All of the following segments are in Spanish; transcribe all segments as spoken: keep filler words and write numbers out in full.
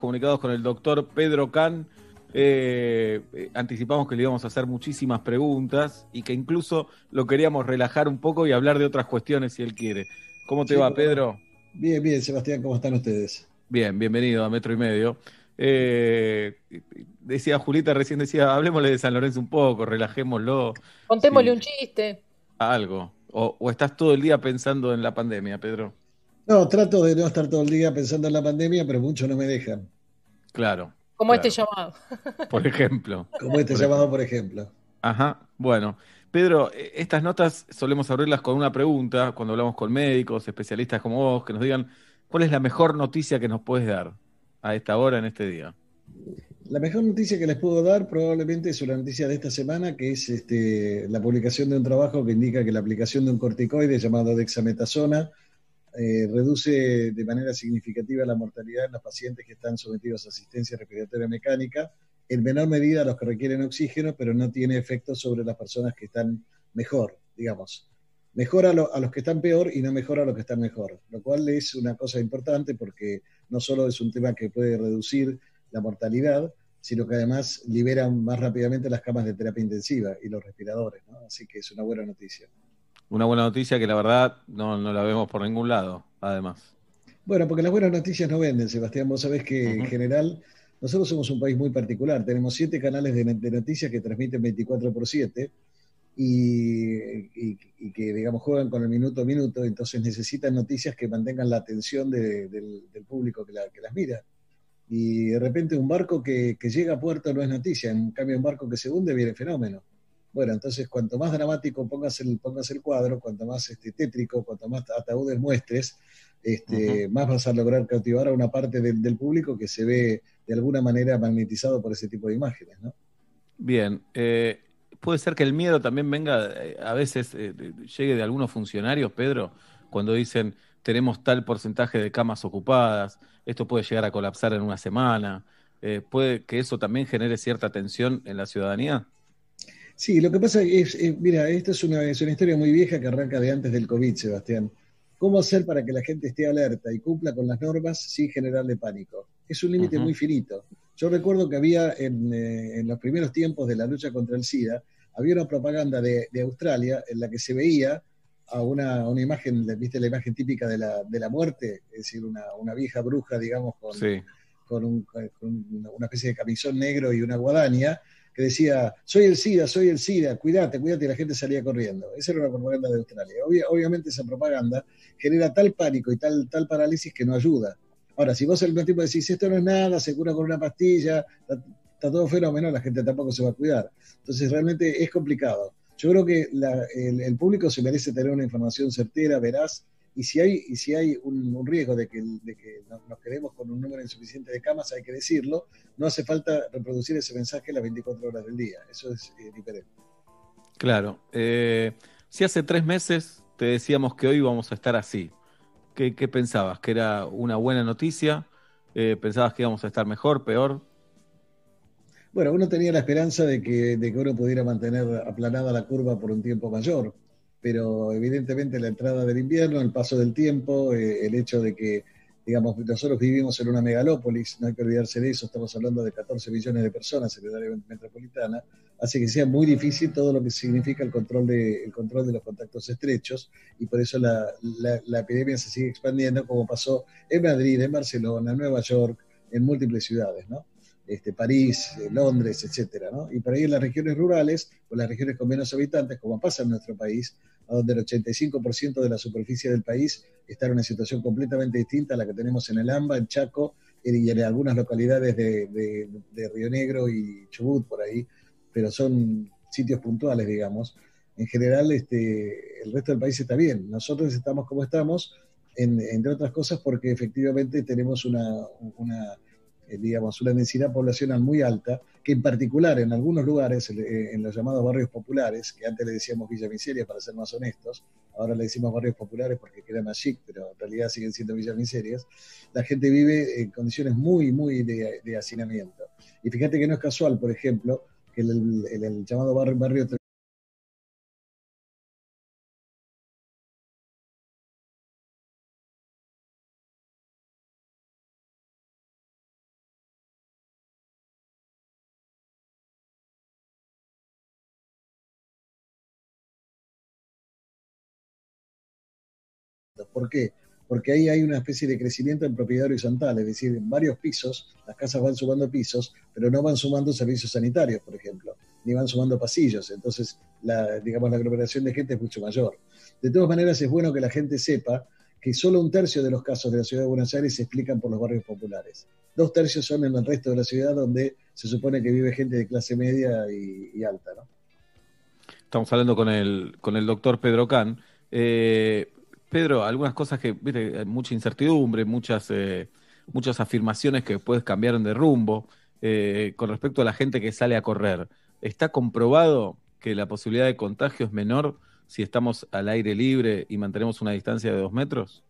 Comunicados con el doctor Pedro Can. Eh, eh, anticipamos que le íbamos a hacer muchísimas preguntas y que incluso lo queríamos relajar un poco y hablar de otras cuestiones si él quiere. ¿Cómo te Sí, va, cómo no. Pedro? Bien, bien, Sebastián, ¿cómo están ustedes? Bien, bienvenido a Metro y Medio. Eh, decía Julita, recién decía, hablemosle de San Lorenzo un poco, relajémoslo, Contémosle si un chiste. algo. O, o estás todo el día pensando en la pandemia, Pedro. No, trato de no estar todo el día pensando en la pandemia, pero muchos no me dejan. Claro, Como este claro. llamado. Por ejemplo, Como este por llamado, ejemplo. por ejemplo. Ajá, bueno. Pedro, eh, estas notas solemos abrirlas con una pregunta cuando hablamos con médicos, especialistas como vos, que nos digan cuál es la mejor noticia que nos puedes dar a esta hora, en este día. La mejor noticia que les puedo dar probablemente es una noticia de esta semana, que es este, la publicación de un trabajo que indica que la aplicación de un corticoide llamado dexametasona eh, reduce de manera significativa la mortalidad en los pacientes que están sometidos a asistencia respiratoria mecánica, en menor medida a los que requieren oxígeno, pero no tiene efecto sobre las personas que están mejor, digamos. Mejora a, lo, a los que están peor y no mejora a los que están mejor, lo cual es una cosa importante porque no solo es un tema que puede reducir la mortalidad, sino que además libera más rápidamente las camas de terapia intensiva y los respiradores, ¿no? Así que es una buena noticia. Una buena noticia que la verdad no, no la vemos por ningún lado, además. Bueno, porque las buenas noticias no venden, Sebastián. Vos sabés que en Ujú. general nosotros somos un país muy particular. Tenemos siete canales de, de noticias que transmiten veinticuatro por siete y, y, y, que, digamos, juegan con el minuto a minuto. Entonces necesitan noticias que mantengan la atención de, del, del, público que, la, que, las mira. Y de repente un barco que, que llega a puerto no es noticia. En cambio, un barco que se hunde viene fenómeno. Bueno, entonces cuanto más dramático pongas el, pongas el cuadro, cuanto más este, tétrico, cuanto más ataúdes muestres, Ujú. este, más vas a lograr cautivar a una parte del, del, público que se ve de alguna manera magnetizado por ese tipo de imágenes, ¿no? Bien, eh, puede ser que el miedo también venga, eh, a veces eh, de- llegue de algunos funcionarios, Pedro, cuando dicen tenemos tal porcentaje de camas ocupadas, esto puede llegar a colapsar en una semana, eh, puede que eso también genere cierta tensión en la ciudadanía. Sí, lo que pasa es, es mira, esta es una, es una historia muy vieja que arranca de antes del COVID, Sebastián. ¿Cómo hacer para que la gente esté alerta y cumpla con las normas sin generarle pánico? Es un límite Ujú. muy finito. Yo recuerdo que había en, eh, en los primeros tiempos de la lucha contra el SIDA, había una propaganda de, de Australia en la que se veía a una, una imagen, viste la imagen típica de la, de la muerte, es decir, una, una vieja bruja, digamos, con, Sí, con, un, con una especie de camisón negro y una guadaña, que decía, soy el SIDA, soy el SIDA, cuídate, cuídate, y la gente salía corriendo. Esa era una propaganda de Australia. Obvia, obviamente esa propaganda genera tal pánico y tal, tal parálisis que no ayuda. Ahora, si vos al mismo tiempo decís, esto no es nada, se cura con una pastilla, está, está todo fenómeno, la gente tampoco se va a cuidar. Entonces, realmente es complicado. Yo creo que la, el, el, público se merece tener una información certera, veraz, y si hay, y si hay un, un riesgo de que, de que nos quedemos con un número insuficiente de camas, hay que decirlo. No hace falta reproducir ese mensaje las veinticuatro horas del día. Eso es eh, diferente. claro. Eh, si hace tres meses te decíamos que hoy vamos a estar así, ¿qué, qué pensabas? ¿Que era una buena noticia? Eh, ¿pensabas que íbamos a estar mejor, peor? Bueno, uno tenía la esperanza de que, de que uno pudiera mantener aplanada la curva por un tiempo mayor, pero evidentemente la entrada del invierno, el paso del tiempo, eh, el hecho de que, digamos, nosotros vivimos en una megalópolis, no hay que olvidarse de eso, estamos hablando de catorce millones de personas en el área metropolitana, hace que sea muy difícil todo lo que significa el control de, el control de los contactos estrechos, y por eso la, la, la epidemia se sigue expandiendo, como pasó en Madrid, en Barcelona, en Nueva York, en múltiples ciudades, ¿no? Este, París, eh, Londres, etcétera, ¿no? Y por ahí en las regiones rurales, o las regiones con menos habitantes, como pasa en nuestro país, a donde el ochenta y cinco por ciento de la superficie del país está en una situación completamente distinta a la que tenemos en el AMBA, en Chaco, y en algunas localidades de, de, de Río Negro y Chubut, por ahí, pero son sitios puntuales, digamos. En general, este, el resto del país está bien. Nosotros estamos como estamos, en, entre otras cosas, porque efectivamente tenemos una, una eh, digamos, una densidad poblacional muy alta, que en particular en algunos lugares, eh, en los llamados barrios populares, que antes le decíamos Villa Miseria para ser más honestos, ahora le decimos barrios populares porque queda más chic, pero en realidad siguen siendo Villas Miserias, la gente vive en condiciones muy, muy de, de hacinamiento. Y fíjate que no es casual, por ejemplo, que el, el, el llamado barrio, barrio ¿Por qué? Porque ahí hay una especie de crecimiento en propiedad horizontal, es decir, en varios pisos, las casas van sumando pisos, pero no van sumando servicios sanitarios, por ejemplo, ni van sumando pasillos, entonces la, digamos, la aglomeración de gente es mucho mayor. De todas maneras, es bueno que la gente sepa que solo un tercio de los casos de la ciudad de Buenos Aires se explican por los barrios populares. Dos tercios son en el resto de la ciudad, donde se supone que vive gente de clase media y, y alta, ¿no? Estamos hablando con el, con el doctor Pedro Can. Eh, Pedro, algunas cosas que, viste, hay mucha incertidumbre, muchas, eh, muchas afirmaciones que después cambiaron de rumbo. Eh, con respecto a la gente que sale a correr, ¿está comprobado que la posibilidad de contagio es menor si estamos al aire libre y mantenemos una distancia de dos metros?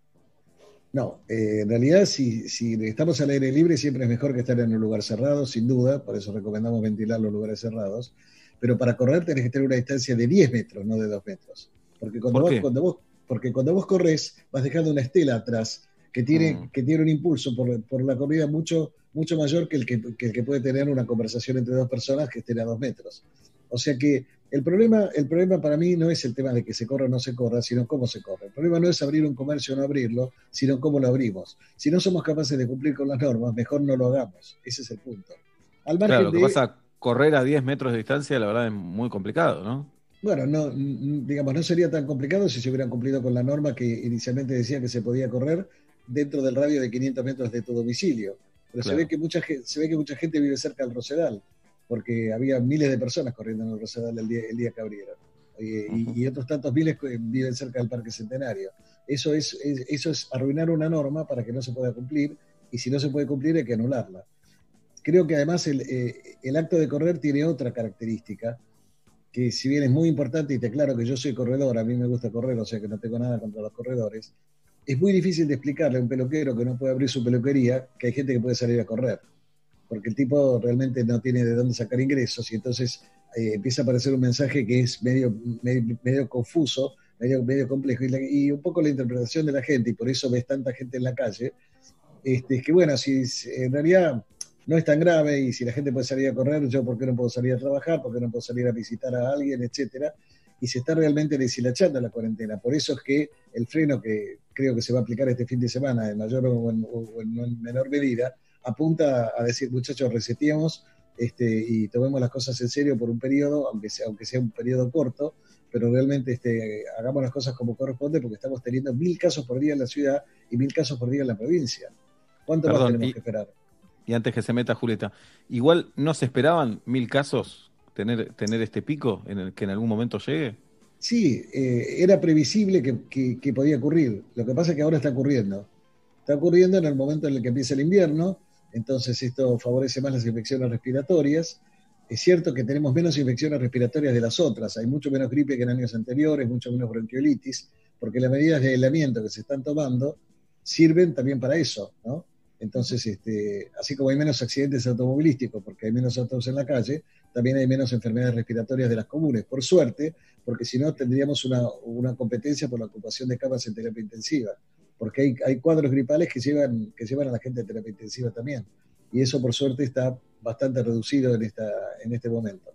No, eh, en realidad si, si estamos al aire libre siempre es mejor que estar en un lugar cerrado, sin duda, por eso recomendamos ventilar los lugares cerrados, pero para correr tenés que tener una distancia de diez metros, no de dos metros, porque cuando ¿Por vos, qué? cuando vos, porque cuando vos corres vas dejando una estela atrás que tiene, Mm, que tiene un impulso por, por la corrida mucho, mucho mayor que el que, que el que puede tener una conversación entre dos personas que estén a dos metros. O sea que el problema, el problema para mí no es el tema de que se corra o no se corra, sino cómo se corre. El problema no es abrir un comercio o no abrirlo, sino cómo lo abrimos. Si no somos capaces de cumplir con las normas, mejor no lo hagamos. Ese es el punto. Al claro, margen lo que de, pasa, correr a diez metros de distancia, la verdad es muy complicado, ¿no? bueno, no, digamos, no sería tan complicado si se hubieran cumplido con la norma que inicialmente decía que se podía correr dentro del radio de quinientos metros de tu domicilio. Pero se ve Claro. que mucha, se ve que mucha gente vive cerca del Rosedal, porque había miles de personas corriendo en el Rosedal el día, el día que abrieron. Ujú. Y, y otros tantos miles viven cerca del Parque Centenario. Eso es, es, eso es arruinar una norma para que no se pueda cumplir, y si no se puede cumplir hay que anularla. Creo que además el, eh, el acto de correr tiene otra característica, que si bien es muy importante, y te aclaro que yo soy corredor, a mí me gusta correr, o sea que no tengo nada contra los corredores, es muy difícil de explicarle a un peluquero que no puede abrir su peluquería que hay gente que puede salir a correr, porque el tipo realmente no tiene de dónde sacar ingresos, y entonces eh, empieza a aparecer un mensaje que es medio, medio, medio confuso, medio, medio complejo, y, la, y, un poco la interpretación de la gente, y por eso ves tanta gente en la calle, este, es que bueno, si en realidad no es tan grave, y si la gente puede salir a correr, yo por qué no puedo salir a trabajar, por qué no puedo salir a visitar a alguien, etcétera, y se está realmente deshilachando la cuarentena. Por eso es que el freno que creo que se va a aplicar este fin de semana, en mayor o en, o en menor medida, apunta a decir, muchachos, reseteemos este, y tomemos las cosas en serio por un periodo, aunque sea, aunque sea un periodo corto, pero realmente este, hagamos las cosas como corresponde, porque estamos teniendo mil casos por día en la ciudad y mil casos por día en la provincia. ¿Cuánto más Perdón, tenemos y, que esperar? y antes que se meta Julieta, igual no se esperaban mil casos tener, tener este pico en el que en algún momento llegue. Sí, eh, era previsible que, que, que podía ocurrir. Lo que pasa es que ahora está ocurriendo. Está ocurriendo en el momento en el que empieza el invierno, entonces esto favorece más las infecciones respiratorias. Es cierto que tenemos menos infecciones respiratorias de las otras, hay mucho menos gripe que en años anteriores, mucho menos bronquiolitis, porque las medidas de aislamiento que se están tomando sirven también para eso, ¿no? Entonces, este, así como hay menos accidentes automovilísticos porque hay menos autos en la calle, también hay menos enfermedades respiratorias de las comunes, por suerte, porque si no tendríamos una, una competencia por la ocupación de camas en terapia intensiva, porque hay, hay cuadros gripales que llevan, que llevan a la gente a terapia intensiva también, y eso por suerte está bastante reducido en, esta, en este momento.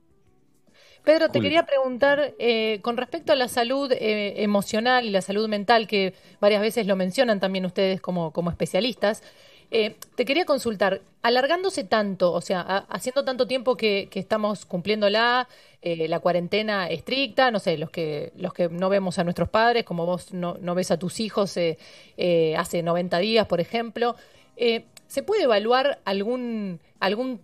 Pedro, te quería Julieta. preguntar eh, con respecto a la salud eh, emocional y la salud mental, que varias veces lo mencionan también ustedes como, como especialistas. Eh, te quería consultar, alargándose tanto, o sea, a- haciendo tanto tiempo que, que estamos cumpliendo la, eh, la cuarentena estricta, no sé, los que, los que no vemos a nuestros padres, como vos no, no ves a tus hijos eh, eh, hace noventa días, por ejemplo, eh, ¿se puede evaluar algún, algún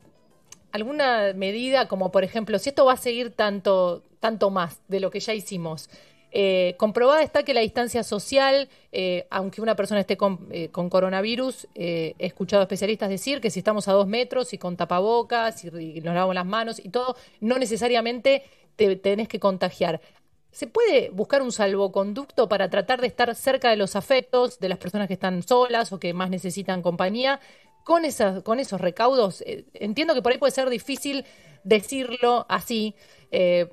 alguna medida, como por ejemplo, si esto va a seguir tanto, tanto más de lo que ya hicimos? Eh, comprobada está que la distancia social, eh, aunque una persona esté con, eh, con coronavirus, eh, he escuchado especialistas decir que si estamos a dos metros y con tapabocas y, y nos lavamos las manos y todo, no necesariamente te tenés que contagiar. ¿Se puede buscar un salvoconducto para tratar de estar cerca de los afectos, de las personas que están solas o que más necesitan compañía, con esas, con esos recaudos? Eh, entiendo que por ahí puede ser difícil decirlo así, eh,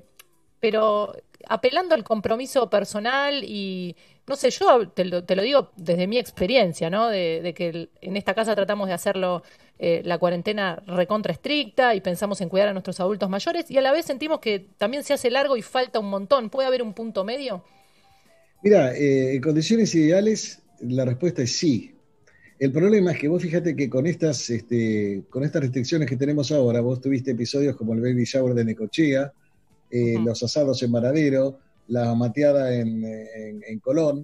pero apelando al compromiso personal y, no sé, yo te lo, te lo digo desde mi experiencia, ¿no? De, de que el- en esta casa tratamos de hacerlo eh, la cuarentena recontra estricta y pensamos en cuidar a nuestros adultos mayores y a la vez sentimos que también se hace largo y falta un montón. ¿Puede haber un punto medio? Mira, eh, en condiciones ideales, la respuesta es sí. El problema es que vos fíjate que con estas, este, con estas restricciones que tenemos ahora, vos tuviste episodios como el baby shower de Necochea, eh, Ujú. los asados en Varadero, la mateada en, en, en Colón,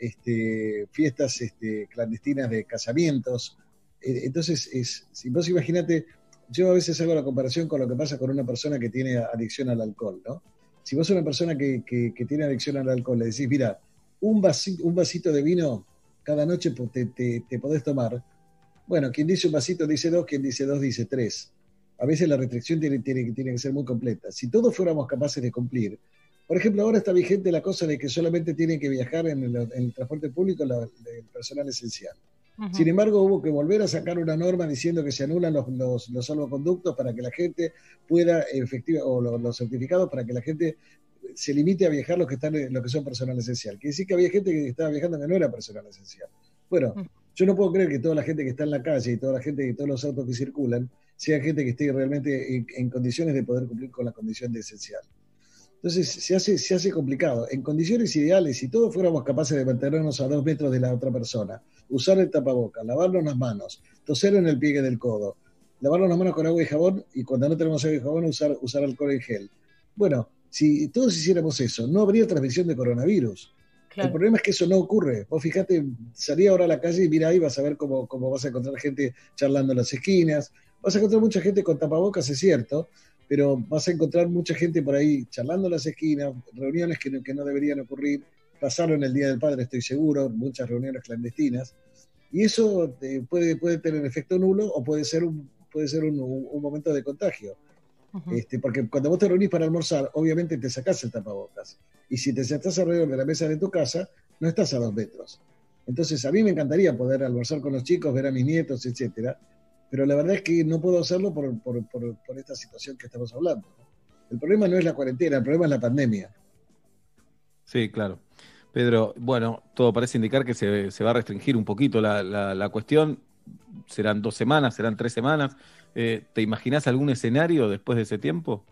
este, fiestas este, clandestinas de casamientos. Eh, entonces, es, si vos imaginate, yo a veces hago la comparación con lo que pasa con una persona que tiene adicción al alcohol, ¿no? Si vos sos una persona que, que, que tiene adicción al alcohol, le decís, mira, un vasito, un vasito de vino cada noche te, te, te podés tomar. Bueno, quien dice un vasito dice dos, quien dice dos dice tres. A veces la restricción tiene, tiene, tiene que ser muy completa. Si todos fuéramos capaces de cumplir, por ejemplo, ahora está vigente la cosa de que solamente tienen que viajar en el, en el transporte público la, el personal esencial. Sin Ujú. embargo, hubo que volver a sacar una norma diciendo que se anulan los, los, los salvoconductos para que la gente pueda efectiva, o los, los certificados para que la gente se limite a viajar los que están los que son personal esencial. Quiere decir que había gente que estaba viajando que no era personal esencial. Bueno, Ujú. yo no puedo creer que toda la gente que está en la calle y toda la gente y todos los autos que circulan sea gente que esté realmente en, en condiciones de poder cumplir con la condición de esencial. Entonces se hace, se hace complicado. En condiciones ideales, si todos fuéramos capaces de mantenernos a dos metros de la otra persona, usar el tapaboca, lavarnos las manos, toser en el pliegue del codo, lavarnos las manos con agua y jabón, y cuando no tenemos agua y jabón, usar, usar alcohol en gel. Bueno, si todos hiciéramos eso, no habría transmisión de coronavirus. El Claro. problema es que eso no ocurre. Vos fijate, salí ahora a la calle y mira ahí, vas a ver cómo, cómo vas a encontrar gente charlando en las esquinas. Vas a encontrar mucha gente con tapabocas, es cierto, pero vas a encontrar mucha gente por ahí charlando en las esquinas, reuniones que no, que no deberían ocurrir. Pasaron el Día del Padre, estoy seguro, muchas reuniones clandestinas. Y eso eh, puede, puede tener efecto nulo o puede ser un, puede ser un, un, un momento de contagio. Ujú. Este, porque cuando vos te reunís para almorzar, obviamente te sacás el tapabocas. Y si te sentás alrededor de la mesa de tu casa, no estás a dos metros. Entonces, a mí me encantaría poder almorzar con los chicos, ver a mis nietos, etcétera. Pero la verdad es que no puedo hacerlo por, por, por, por esta situación que estamos hablando. El problema no es la cuarentena, el problema es la pandemia. Sí, claro. Pedro, bueno, todo parece indicar que se, se va a restringir un poquito la, la, la cuestión. Serán dos semanas, serán tres semanas. Eh, ¿te imaginás algún escenario después de ese tiempo?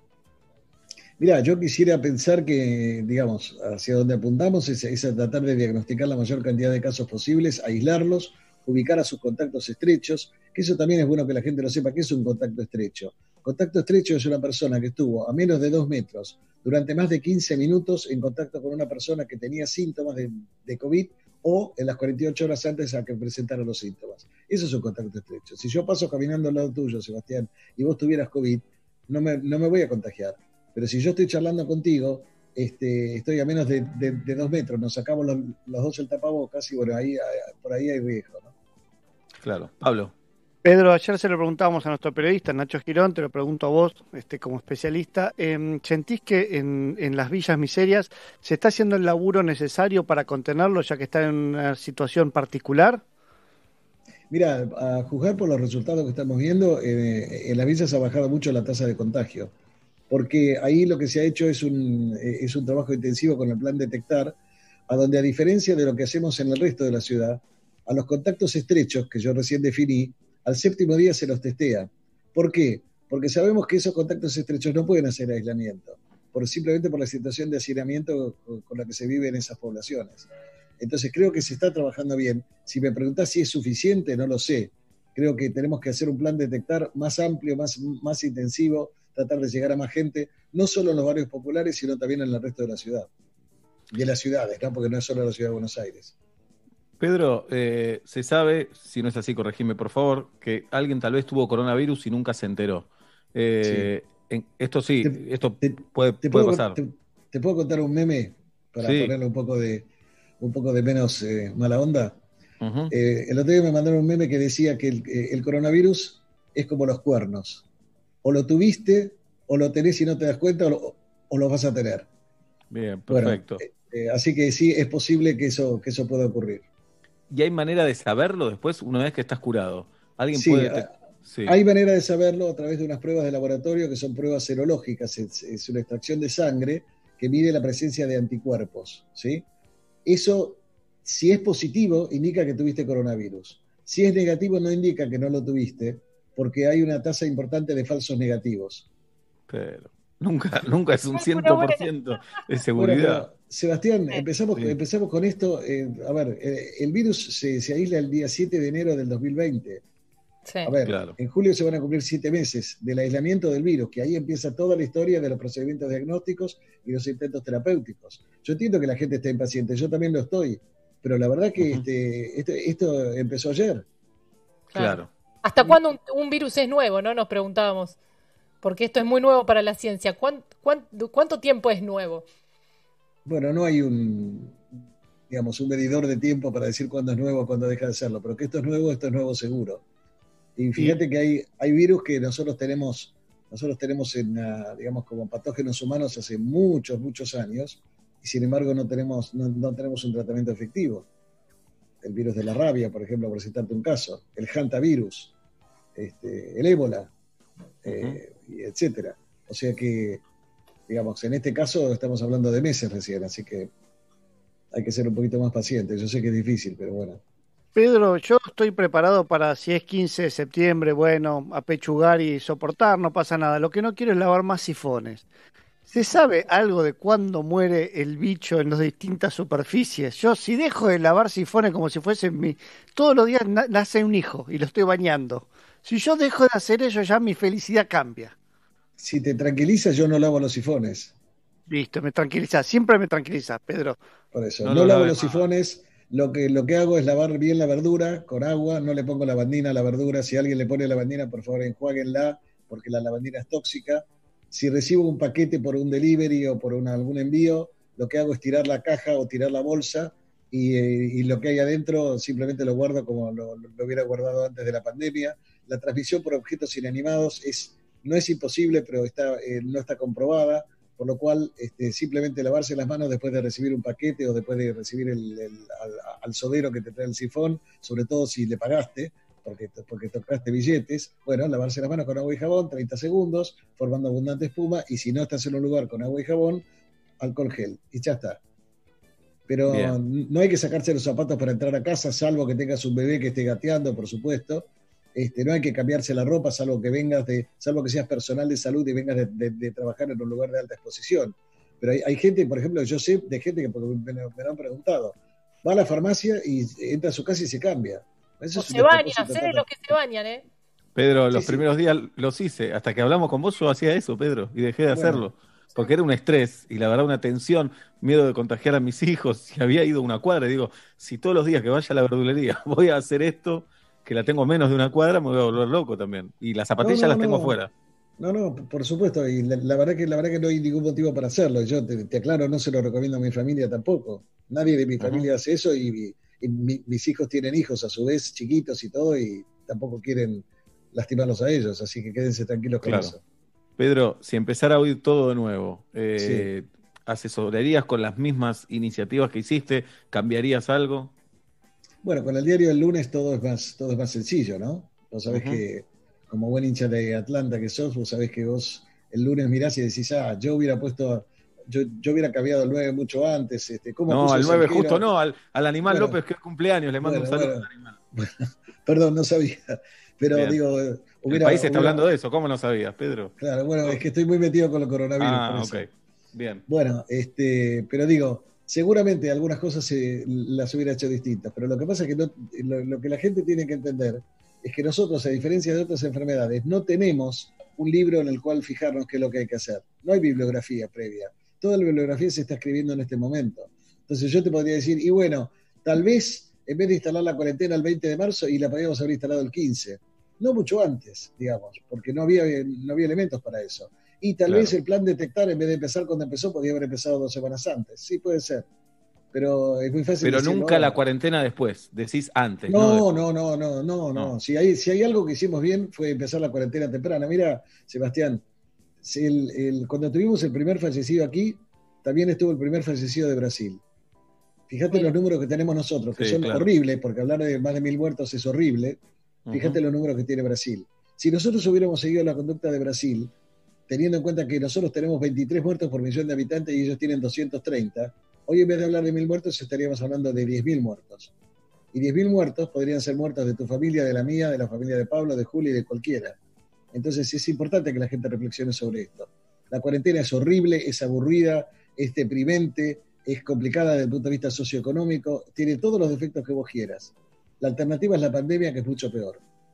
Mira, yo quisiera pensar que, digamos, hacia donde apuntamos es, es a tratar de diagnosticar la mayor cantidad de casos posibles, aislarlos, ubicar a sus contactos estrechos, que eso también es bueno que la gente lo sepa, que es un contacto estrecho. Contacto estrecho es una persona que estuvo a menos de dos metros durante más de quince minutos en contacto con una persona que tenía síntomas de, de COVID o en las cuarenta y ocho horas antes a que presentara los síntomas. Eso es un contacto estrecho. Si yo paso caminando al lado tuyo, Sebastián, y vos tuvieras COVID, no me, no me voy a contagiar. Pero si yo estoy charlando contigo, este, estoy a menos de, de, de dos metros, nos sacamos los, los dos el tapabocas y bueno, ahí, por ahí hay riesgo, ¿no? Claro. Pablo. Pedro, ayer se lo preguntábamos a nuestro periodista Nacho Girón, te lo pregunto a vos, este, como especialista. Eh, ¿Sentís que en, en las villas miserias se está haciendo el laburo necesario para contenerlo, ya que está en una situación particular? Mira, a juzgar por los resultados que estamos viendo, eh, en las villas ha bajado mucho la tasa de contagio, porque ahí lo que se ha hecho es un, eh, es un trabajo intensivo con el plan Detectar, a donde a diferencia de lo que hacemos en el resto de la ciudad, a los contactos estrechos que yo recién definí, al séptimo día se los testea. ¿Por qué? Porque sabemos que esos contactos estrechos no pueden hacer aislamiento, por, simplemente por la situación de hacinamiento con, con la que se vive en esas poblaciones. Entonces creo que se está trabajando bien. Si me preguntás si es suficiente, no lo sé. Creo que tenemos que hacer un plan Detectar más amplio, más, más intensivo, tratar de llegar a más gente, no solo en los barrios populares, sino también en el resto de la ciudad. De las ciudades, ¿no? Porque no es solo la ciudad de Buenos Aires. Pedro, eh, se sabe, si no es así, corregime por favor, que alguien tal vez tuvo coronavirus y nunca se enteró. Sí. Eh, en- esto sí, ¿Te, esto te, puede, te puede puedo, pasar. te, te puedo contar un meme para Sí. ponerle un poco de, un poco de menos eh, mala onda? Ujú. Eh, el otro día me mandaron un meme que decía que el, eh, el coronavirus es como los cuernos. O lo tuviste, o lo tenés y no te das cuenta, o lo, o lo vas a tener. Bien, Bueno, perfecto. eh, eh, así que sí, es posible que eso, que eso pueda ocurrir. ¿Y hay manera de saberlo después, una vez que estás curado? ¿Alguien Sí, puede...? a- te- Sí, hay manera de saberlo a través de unas pruebas de laboratorio que son pruebas serológicas. Es, es una extracción de sangre que mide la presencia de anticuerpos, ¿sí? Eso, si es positivo, indica que tuviste coronavirus. Si es negativo, no indica que no lo tuviste, porque hay una tasa importante de falsos negativos. pero... Nunca, nunca es un Es una buena. cien por ciento de Bueno, seguridad. pero Sebastián, Sí. empezamos, Sí, empezamos con esto. Eh, a ver, eh, el virus se, se aísla el día siete de enero del dos mil veinte. Sí. A ver, claro. en julio se van a cumplir siete meses del aislamiento del virus, que ahí empieza toda la historia de los procedimientos diagnósticos y los intentos terapéuticos. Yo entiendo que la gente esté impaciente, yo también lo estoy, pero la verdad que Ujú. este, este- esto empezó ayer. Claro. ¿Hasta cuándo un, un virus es nuevo, no? Nos preguntábamos. Porque esto es muy nuevo para la ciencia. ¿Cuán- cuán- ¿Cuánto tiempo es nuevo? Bueno, no hay un, digamos, un medidor de tiempo para decir cuándo es nuevo o cuándo deja de serlo, pero que esto es nuevo, esto es nuevo seguro. Y Y fíjate que hay, hay virus que nosotros tenemos, nosotros tenemos en, ah, digamos, como patógenos humanos hace muchos, muchos años, y sin embargo no tenemos, no, no tenemos un tratamiento efectivo. El virus de la rabia, por ejemplo, por citarte un caso, el hantavirus, este, el ébola, eh, y etcétera. O sea que, digamos, en este caso estamos hablando de meses recién, así que hay que ser un poquito más pacientes. Yo sé que es difícil, pero bueno. Pedro, yo estoy preparado para si es quince de septiembre, bueno, apechugar y soportar, no pasa nada. Lo que no quiero es lavar más sifones. ¿Se sabe algo de cuándo muere el bicho en las distintas superficies? Yo, si dejo de lavar sifones como si fuese mi... Todos los días na- nace un hijo y lo estoy bañando. Si yo dejo de hacer eso, ya mi felicidad cambia. Si te tranquiliza, yo no lavo los sifones. Listo, me tranquiliza. Siempre me tranquiliza, Pedro. Por eso, No no lo lavo laves los más. sifones. Lo que, lo que hago es lavar bien la verdura con agua, no le pongo lavandina a la verdura. Si alguien le pone lavandina, por favor, enjuáguenla, porque la lavandina es tóxica. Si recibo un paquete por un delivery o por una, algún envío, lo que hago es tirar la caja o tirar la bolsa y, eh, y lo que hay adentro simplemente lo guardo como lo, lo hubiera guardado antes de la pandemia. La transmisión por objetos inanimados es, no es imposible, pero está, eh, no está comprobada, por lo cual este, simplemente lavarse las manos después de recibir un paquete o después de recibir el, el, al, al sodero que te trae el sifón, sobre todo si le pagaste, porque, porque tocaste billetes, bueno, lavarse las manos con agua y jabón, treinta segundos, formando abundante espuma, y si no estás en un lugar con agua y jabón, alcohol gel, y ya está. Pero Bien. no hay que sacarse los zapatos para entrar a casa, salvo que tengas un bebé que esté gateando, por supuesto. Este, no hay que cambiarse la ropa, salvo que vengas de, salvo que seas personal de salud y vengas de, de, de trabajar en un lugar de alta exposición. Pero hay, hay gente, por ejemplo, yo sé de gente que me, me lo han preguntado, va a la farmacia y entra a su casa y se cambia. Eso O es un se bañan, despropósito sé de los total. que se bañan, ¿eh? Pedro, Sí, los sí. primeros días los hice. Hasta que hablamos con vos, yo hacía eso, Pedro, y dejé de Bueno, hacerlo. Porque era un estrés y la verdad una tensión, miedo de contagiar a mis hijos. Si había ido una cuadra, y digo, si todos los días que vaya a la verdulería voy a hacer esto, que la tengo menos de una cuadra, me voy a volver loco también. Y las no, zapatillas no, las tengo no. fuera. No, no, por supuesto, y la, la verdad que la verdad que no hay ningún motivo para hacerlo. Yo te, te aclaro, no se lo recomiendo a mi familia tampoco. Nadie de mi Ujú. familia hace eso y, y mi, mis hijos tienen hijos a su vez chiquitos y todo y tampoco quieren lastimarlos a ellos, así que quédense tranquilos con Claro. eso. Pedro, si empezara a oír todo de nuevo, Sí. eh, ¿asesorarías con las mismas iniciativas que hiciste? ¿Cambiarías algo? Bueno, con el diario del lunes todo es más, todo es más sencillo, ¿no? Vos sabés Ujú. que, como buen hincha de Atlanta que sos, vos sabés que vos el lunes mirás y decís, ah, yo hubiera puesto, yo, yo hubiera cambiado el nueve mucho antes, este, ¿cómo No, puso al ese nueve justo arquero? no, al, al Animal Bueno, López, que es cumpleaños, le mando un bueno, saludo bueno. al Animal. Perdón, no sabía. Pero Bien. digo, El hubiera, país está hubiera, hablando de eso, ¿cómo no sabías, Pedro? claro, bueno, es que estoy muy metido con el coronavirus, por Ah, eso. ok. Bien. Bueno, este, pero digo, seguramente algunas cosas se, las hubiera hecho distintas, pero lo que pasa es que no, lo, lo que la gente tiene que entender es que nosotros, a diferencia de otras enfermedades, no tenemos un libro en el cual fijarnos qué es lo que hay que hacer. No hay bibliografía previa. Toda la bibliografía se está escribiendo en este momento. Entonces yo te podría decir, y bueno, tal vez en vez de instalar la cuarentena el veinte de marzo y la podríamos haber instalado el quince, no mucho antes, digamos, porque no había, no había elementos para eso. Y tal Claro. vez el plan detectar, en vez de empezar cuando empezó, podría haber empezado dos semanas antes. Sí, puede ser. Pero es muy fácil Pero decirlo nunca la ahora. cuarentena después, decís antes, no No, después. no, no, no, no, No. no. Si hay, si hay algo que hicimos bien fue empezar la cuarentena temprana. Mira, Sebastián, si el, el, cuando tuvimos el primer fallecido aquí, también estuvo el primer fallecido de Brasil. Fíjate Mira. los números que tenemos nosotros, que Sí, son claro. horribles, porque hablar de más de mil muertos es horrible. Fíjate Ujú. los números que tiene Brasil. Si nosotros hubiéramos seguido la conducta de Brasil, teniendo en cuenta que nosotros tenemos veintitrés muertos por millón de habitantes y ellos tienen doscientos treinta, hoy en vez de hablar de mil muertos estaríamos hablando de diez mil muertos. Y diez mil muertos podrían ser muertos de tu familia, de la mía, de la familia de Pablo, de Juli, de cualquiera. Entonces es importante que la gente reflexione sobre esto. La cuarentena es horrible, es aburrida, es deprimente, es complicada desde el punto de vista socioeconómico, tiene todos los defectos que vos quieras. La alternativa es la pandemia, que es mucho peor.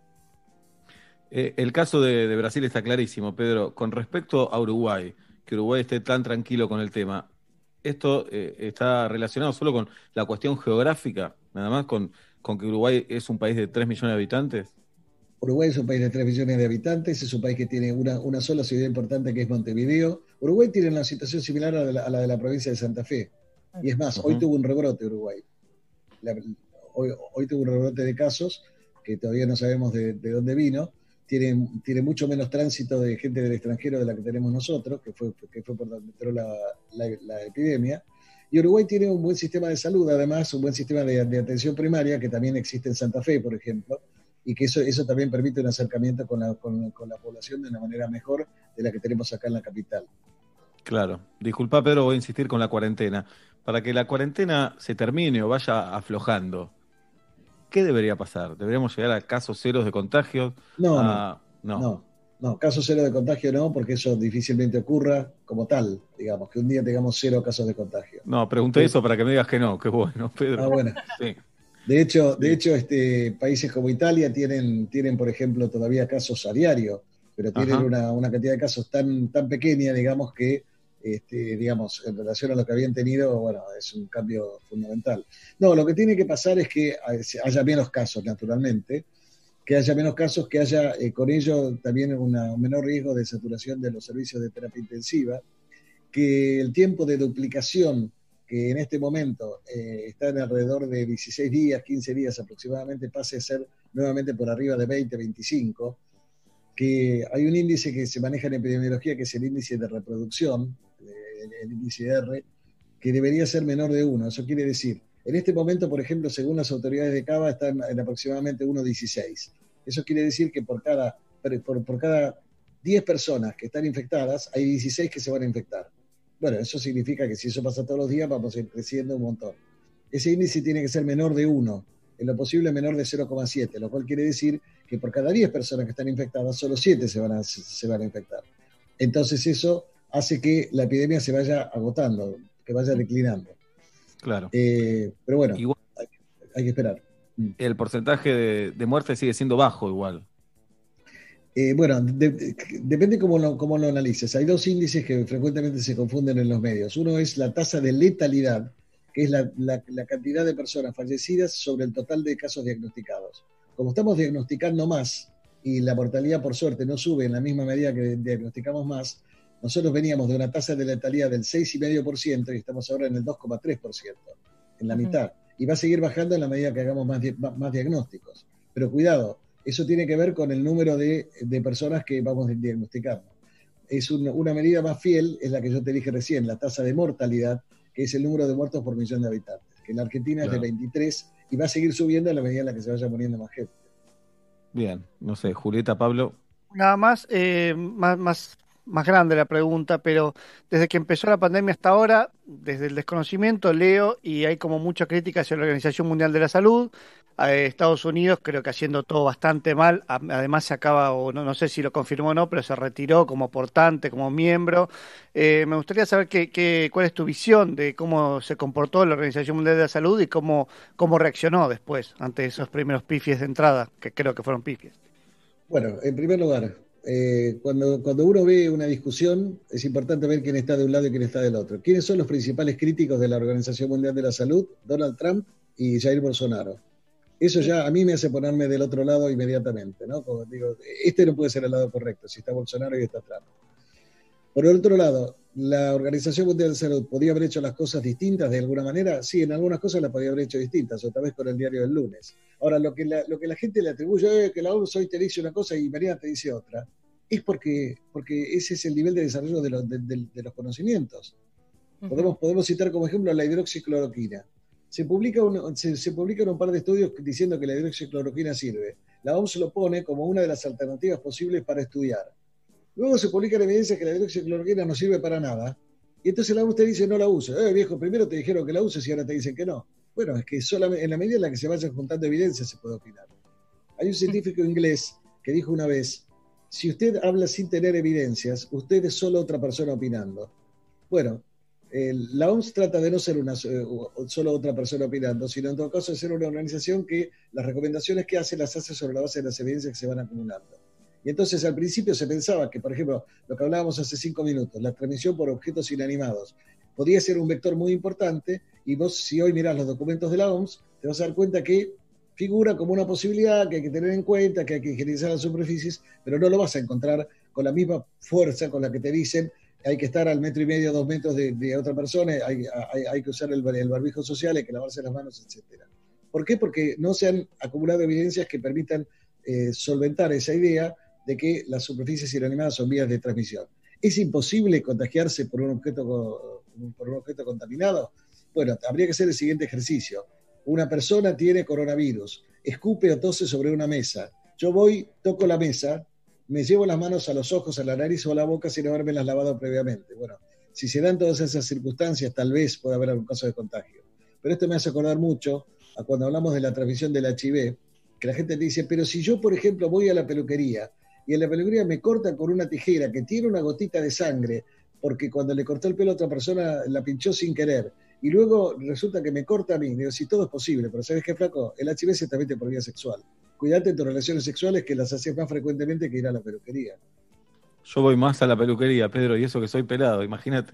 Eh, el caso de, de Brasil está clarísimo, Pedro. Con respecto a Uruguay, que Uruguay esté tan tranquilo con el tema, ¿esto eh, está relacionado solo con la cuestión geográfica, nada más con, con que Uruguay es un país de tres millones de habitantes? Uruguay es un país de tres millones de habitantes, es un país que tiene una, una sola ciudad importante, que es Montevideo. Uruguay tiene una situación similar a la de la, a la, de la provincia de Santa Fe. Y es más, uh-huh. hoy tuvo un rebrote Uruguay. La, hoy, hoy tuvo un rebrote de casos, que todavía no sabemos de, de dónde vino. Tiene, tiene mucho menos tránsito de gente del extranjero de la que tenemos nosotros, que fue, que fue por donde entró la, la, la epidemia. Y Uruguay tiene un buen sistema de salud, además, un buen sistema de, de atención primaria, que también existe en Santa Fe, por ejemplo, y que eso, eso también permite un acercamiento con la, con, con la población de una manera mejor de la que tenemos acá en la capital. Claro. Disculpa, Pedro, voy a insistir con la cuarentena. Para que la cuarentena se termine o vaya aflojando, ¿qué debería pasar? ¿Deberíamos llegar a casos ceros de contagios? No, a... no, no, no, no, casos cero de contagio no, porque eso difícilmente ocurra como tal, digamos, que un día tengamos cero casos de contagio. No, pregunté sí. eso para que me digas que no, qué bueno, Pedro. Ah, bueno. Sí. De hecho, de hecho este, países como Italia tienen, tienen, por ejemplo, todavía casos a diario, pero tienen una, una cantidad de casos tan, tan pequeña, digamos, que, este, digamos, en relación a lo que habían tenido, bueno, es un cambio fundamental. No, lo que tiene que pasar es que haya menos casos, naturalmente, que haya menos casos, que haya eh, con ello también una, un menor riesgo de saturación de los servicios de terapia intensiva, que el tiempo de duplicación, que en este momento eh, está en alrededor de dieciséis días, quince días aproximadamente, pase a ser nuevamente por arriba de veinte, veinticinco, que hay un índice que se maneja en epidemiología, que es el índice de reproducción, el, el índice R, que debería ser menor de uno. Eso quiere decir, en este momento, por ejemplo, según las autoridades de Cava, está en, en aproximadamente uno punto dieciséis. Eso quiere decir que por cada, por, por cada diez personas que están infectadas, hay dieciséis que se van a infectar. Bueno, eso significa que si eso pasa todos los días, vamos a ir creciendo un montón. Ese índice tiene que ser menor de uno, en lo posible menor de cero coma siete, lo cual quiere decir que por cada diez personas que están infectadas, solo siete se van a, se van a infectar. Entonces eso hace que la epidemia se vaya agotando, que vaya declinando. Claro. Eh, pero bueno, igual, hay, hay que esperar. El porcentaje de, de muerte sigue siendo bajo igual. Eh, bueno, de, de, depende cómo lo, cómo lo analices. Hay dos índices que frecuentemente se confunden en los medios. Uno es la tasa de letalidad, que es la, la, la cantidad de personas fallecidas sobre el total de casos diagnosticados. Como estamos diagnosticando más y la mortalidad, por suerte, no sube en la misma medida que diagnosticamos más, nosotros veníamos de una tasa de letalidad del seis coma cinco por ciento y estamos ahora en el dos coma tres por ciento, en la uh-huh. mitad. Y va a seguir bajando en la medida que hagamos más, más diagnósticos. Pero cuidado, eso tiene que ver con el número de, de personas que vamos diagnosticando. Es un, una medida más fiel, es la que yo te dije recién, la tasa de mortalidad, que es el número de muertos por millón de habitantes, que en la Argentina claro. es de veintitrés y va a seguir subiendo a la medida en la que se vaya muriendo más gente. Bien, no sé, Julieta, Pablo. Nada más, eh, más, más, más grande la pregunta, pero desde que empezó la pandemia hasta ahora, desde el desconocimiento leo y hay como mucha crítica hacia la Organización Mundial de la Salud. Eh, Estados Unidos creo que haciendo todo bastante mal, además se acaba, o no, no sé si lo confirmó o no, pero se retiró como portante, como miembro. Eh, me gustaría saber qué, qué, cuál es tu visión de cómo se comportó la Organización Mundial de la Salud y cómo, cómo reaccionó después ante esos primeros pifies de entrada, que creo que fueron pifies. Bueno, en primer lugar, eh, cuando, cuando uno ve una discusión, es importante ver quién está de un lado y quién está del otro. ¿Quiénes son los principales críticos de la Organización Mundial de la Salud? Donald Trump y Jair Bolsonaro. Eso ya a mí me hace ponerme del otro lado inmediatamente, ¿no? Como digo, este no puede ser el lado correcto, si está Bolsonaro y está Trump. Por el otro lado, ¿la Organización Mundial de la Salud podía haber hecho las cosas distintas de alguna manera? Sí, en algunas cosas las podía haber hecho distintas, otra vez con el diario del lunes. Ahora, lo que la, lo que la gente le atribuye, eh, que la O M S hoy te dice una cosa y mañana te dice otra, es porque, porque ese es el nivel de desarrollo de, lo, de, de, de los conocimientos. Uh-huh. Podemos, podemos citar como ejemplo la hidroxicloroquina. Se publica, un, se, se publican un par de estudios diciendo que la hidroxicloroquina sirve. La O M S lo pone como una de las alternativas posibles para estudiar. Luego se publican evidencias que la hidroxicloroquina no sirve para nada. Y entonces la O M S te dice no la uses. Eh, viejo, primero te dijeron que la uses y ahora te dicen que no. Bueno, es que solamente en la medida en la que se vayan juntando evidencias se puede opinar. Hay un científico inglés que dijo una vez si usted habla sin tener evidencias, usted es solo otra persona opinando. Bueno, el, la O M S trata de no ser una, solo otra persona opinando, sino en todo caso de ser una organización que las recomendaciones que hace las hace sobre la base de las evidencias que se van acumulando. Y entonces al principio se pensaba que, por ejemplo, lo que hablábamos hace cinco minutos, la transmisión por objetos inanimados, podía ser un vector muy importante, y vos si hoy mirás los documentos de la O M S, te vas a dar cuenta que figura como una posibilidad que hay que tener en cuenta, que hay que higienizar las superficies, pero no lo vas a encontrar con la misma fuerza con la que te dicen que hay que estar al metro y medio, dos metros de, de otra persona, hay, hay, hay que usar el, el barbijo social, hay que lavarse las manos, etcétera. ¿Por qué? Porque no se han acumulado evidencias que permitan eh, solventar esa idea de que las superficies inanimadas son vías de transmisión. ¿Es imposible contagiarse por un objeto, por un objeto contaminado? Bueno, habría que hacer el siguiente ejercicio. Una persona tiene coronavirus, escupe o tose sobre una mesa. Yo voy, toco la mesa, me llevo las manos a los ojos, a la nariz o a la boca sin habermelas lavado previamente. Bueno, si se dan todas esas circunstancias, tal vez pueda haber algún caso de contagio. Pero esto me hace acordar mucho a cuando hablamos de la transmisión del H I V, que la gente te dice, pero si yo, por ejemplo, voy a la peluquería y en la peluquería me cortan con una tijera que tiene una gotita de sangre, porque cuando le cortó el pelo a otra persona la pinchó sin querer, y luego resulta que me corta a mí, digo, si todo es posible, pero ¿sabes qué, flaco? El H I V se transmite por vía sexual. Cuídate en tus relaciones sexuales, que las haces más frecuentemente que ir a la peluquería. Yo voy más a la peluquería, Pedro, y eso que soy pelado, imagínate.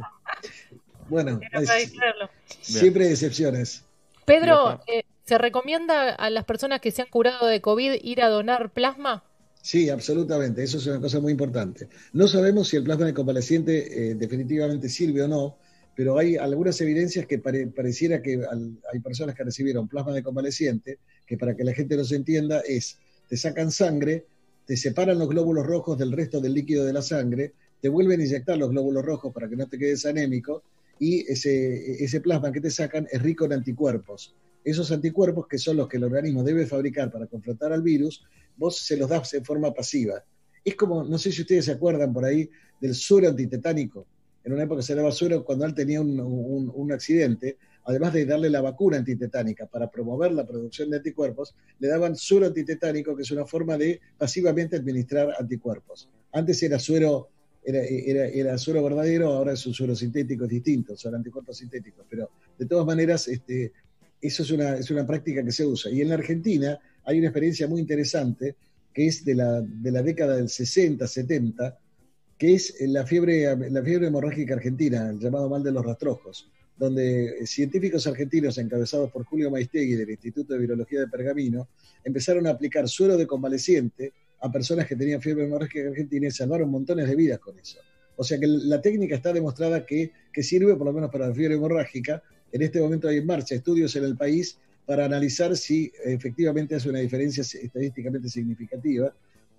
Bueno, es, siempre hay excepciones. Pedro, eh, ¿se recomienda a las personas que se han curado de COVID ir a donar plasma? Sí, absolutamente, eso es una cosa muy importante. No sabemos si el plasma de convaleciente eh, definitivamente sirve o no, pero hay algunas evidencias que pare, pareciera que al, hay personas que recibieron plasma de convaleciente, que para que la gente nos entienda es, te sacan sangre, te separan los glóbulos rojos del resto del líquido de la sangre, te vuelven a inyectar los glóbulos rojos para que no te quedes anémico, y ese, ese plasma que te sacan es rico en anticuerpos. Esos anticuerpos, que son los que el organismo debe fabricar para confrontar al virus, vos se los das en forma pasiva. Es como, no sé si ustedes se acuerdan por ahí del suero antitetánico. En una época se daba suero cuando él tenía un, un, un accidente, además de darle la vacuna antitetánica para promover la producción de anticuerpos, le daban suero antitetánico, que es una forma de pasivamente administrar anticuerpos. Antes era suero, era, era, era suero verdadero, ahora es un suero sintético, es distinto, son anticuerpos sintéticos, pero de todas maneras, este, eso es una, es una práctica que se usa. Y en la Argentina hay una experiencia muy interesante, que es de la, de la década del sesenta, setenta, que es la fiebre, la fiebre hemorrágica argentina, el llamado mal de los rastrojos, donde científicos argentinos encabezados por Julio Maistegui del Instituto de Virología de Pergamino empezaron a aplicar suero de convaleciente a personas que tenían fiebre hemorrágica argentina y salvaron montones de vidas con eso. O sea que la técnica está demostrada que, que sirve por lo menos para la fiebre hemorrágica. En este momento hay en marcha estudios en el país para analizar si efectivamente hace una diferencia estadísticamente significativa.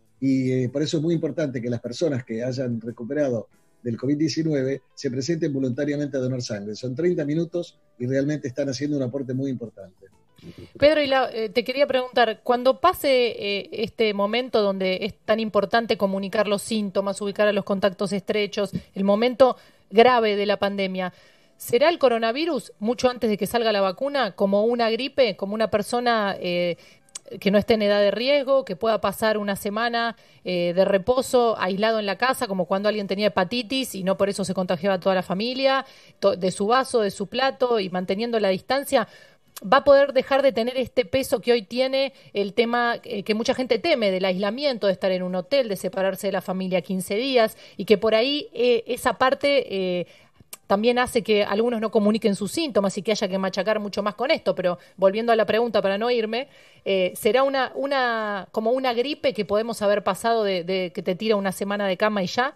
Y eh, por eso es muy importante que las personas que hayan recuperado del COVID diecinueve se presenten voluntariamente a donar sangre. Son treinta minutos y realmente están haciendo un aporte muy importante. Pedro, y la, eh, te quería preguntar, cuando pase eh, este momento donde es tan importante comunicar los síntomas, ubicar a los contactos estrechos, el momento grave de la pandemia, ¿será el coronavirus, mucho antes de que salga la vacuna, como una gripe, como una persona eh, que no esté en edad de riesgo, que pueda pasar una semana eh, de reposo, aislado en la casa, como cuando alguien tenía hepatitis y no por eso se contagiaba a toda la familia, to- de su vaso, de su plato y manteniendo la distancia? ¿Va a poder dejar de tener este peso que hoy tiene el tema eh, que mucha gente teme del aislamiento, de estar en un hotel, de separarse de la familia quince días y que por ahí eh, esa parte eh, también hace que algunos no comuniquen sus síntomas y que haya que machacar mucho más con esto? Pero volviendo a la pregunta para no irme, eh, ¿será una, una como una gripe que podemos haber pasado de, de que te tira una semana de cama y ya?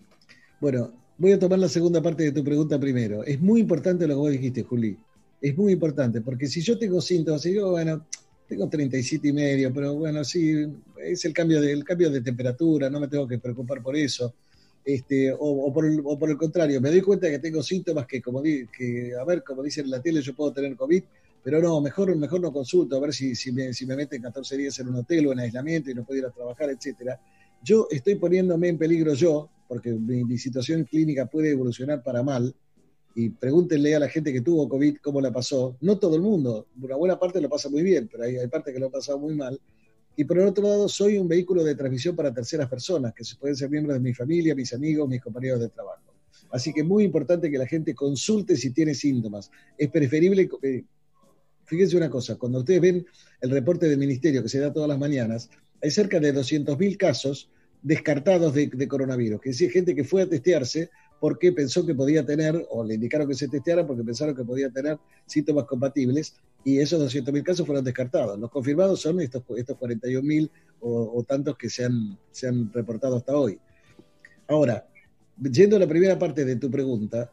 Bueno, voy a tomar la segunda parte de tu pregunta primero. Es muy importante lo que vos dijiste, Juli. Es muy importante, porque si yo tengo síntomas, y digo, bueno, tengo treinta y siete y medio, pero bueno, sí, es el cambio de, el cambio de temperatura, no me tengo que preocupar por eso. Este, o, o, por el, o por el contrario, me doy cuenta que tengo síntomas que, como di, que a ver, como dicen en la tele, yo puedo tener COVID, pero no, mejor, mejor no consulto, a ver si, si, me, si me meten catorce días en un hotel o en aislamiento y no puedo ir a trabajar, etcétera. Yo estoy poniéndome en peligro yo, porque mi, mi situación clínica puede evolucionar para mal, y pregúntenle a la gente que tuvo COVID cómo la pasó. No todo el mundo, una buena parte lo pasa muy bien, pero hay, hay parte que lo ha pasado muy mal. y por el otro lado soy un vehículo de transmisión para terceras personas, que pueden ser miembros de mi familia, mis amigos, mis compañeros de trabajo. Así que es muy importante que la gente consulte si tiene síntomas. Es preferible, eh, fíjense una cosa, cuando ustedes ven el reporte del ministerio que se da todas las mañanas, hay cerca de doscientos mil casos descartados de, de coronavirus, que es decir, gente que fue a testearse porque pensó que podía tener, o le indicaron que se testeara porque pensaron que podía tener síntomas compatibles, y esos doscientos mil casos fueron descartados. Los confirmados son estos, estos cuarenta y un mil o, o tantos que se han, se han reportado hasta hoy. Ahora, yendo a la primera parte de tu pregunta,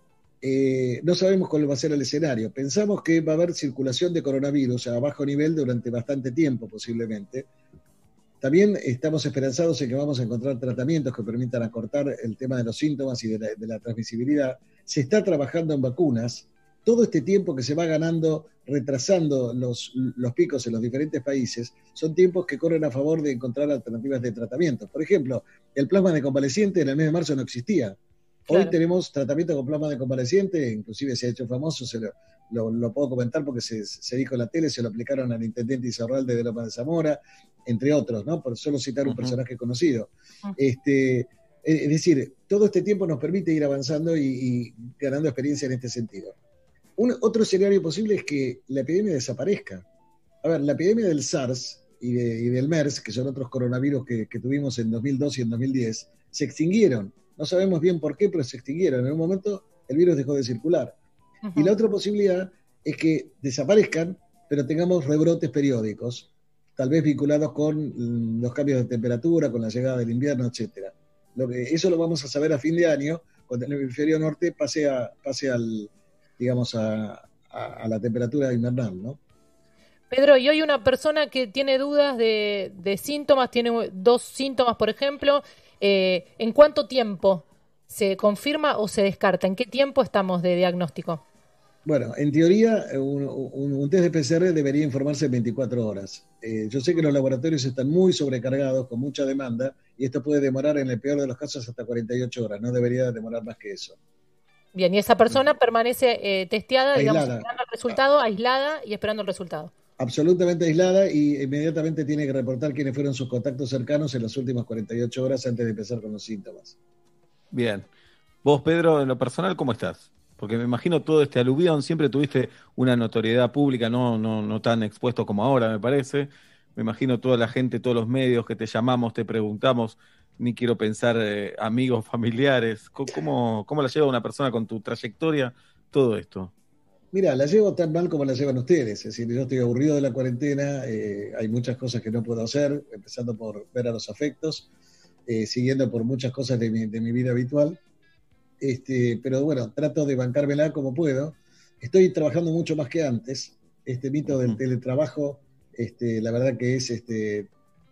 eh, no sabemos cuál va a ser el escenario. Pensamos que va a haber circulación de coronavirus a bajo nivel durante bastante tiempo, posiblemente. También estamos esperanzados en que vamos a encontrar tratamientos que permitan acortar el tema de los síntomas y de la, de la transmisibilidad. Se está trabajando en vacunas. Todo este tiempo que se va ganando, retrasando los, los picos en los diferentes países, son tiempos que corren a favor de encontrar alternativas de tratamiento. Por ejemplo, el plasma de convaleciente en el mes de marzo no existía. Claro. Hoy tenemos tratamiento con plasma de convaleciente, inclusive se ha hecho famoso, se lo, lo, lo puedo comentar porque se, se dijo en la tele, se lo aplicaron al intendente Izarralde de Loma de Zamora, entre otros, ¿no? Por solo citar un uh-huh. personaje conocido. Uh-huh. Este, es decir, todo este tiempo nos permite ir avanzando y, y ganando experiencia en este sentido. Un, otro escenario posible es que la epidemia desaparezca. A ver, la epidemia del SARS y, de, y del MERS, que son otros coronavirus que, que tuvimos en dos mil dos y en dos mil diez, se extinguieron. No sabemos bien por qué, pero se extinguieron. En un momento el virus dejó de circular. Uh-huh. Y la otra posibilidad es que desaparezcan, pero tengamos rebrotes periódicos, tal vez vinculados con los cambios de temperatura, con la llegada del invierno, etcétera. Lo que, eso lo vamos a saber a fin de año, cuando el hemisferio norte pase, a, pase al, digamos, a, a, a la temperatura invernal, ¿no? Pedro, y hoy una persona que tiene dudas de, de síntomas, tiene dos síntomas, por ejemplo, eh, ¿en cuánto tiempo se confirma o se descarta? ¿En qué tiempo estamos de diagnóstico? Bueno, en teoría, un, un, un test de P C R debería informarse en veinticuatro horas. Eh, yo sé que los laboratorios están muy sobrecargados, con mucha demanda, y esto puede demorar, en el peor de los casos, hasta cuarenta y ocho horas. No debería demorar más que eso. Bien, y esa persona permanece eh, testeada, aislada. digamos, esperando el resultado, aislada y esperando el resultado. Absolutamente aislada, y inmediatamente tiene que reportar quiénes fueron sus contactos cercanos en las últimas cuarenta y ocho horas antes de empezar con los síntomas. Bien. Vos, Pedro, en lo personal, ¿cómo estás? Porque me imagino todo este aluvión, siempre tuviste una notoriedad pública, no, no, no tan expuesto como ahora, me parece. Me imagino toda la gente, todos los medios que te llamamos, te preguntamos, ni quiero pensar eh, amigos, familiares. ¿Cómo, ¿Cómo la lleva una persona con tu trayectoria todo esto? Mira, la llevo tan mal como la llevan ustedes. Es decir, yo estoy aburrido de la cuarentena, eh, hay muchas cosas que no puedo hacer, empezando por ver a los afectos, eh, siguiendo por muchas cosas de mi, de mi vida habitual. Este, pero bueno, trato de bancármela como puedo. Estoy trabajando mucho más que antes. Este mito del teletrabajo, este, la verdad que es este,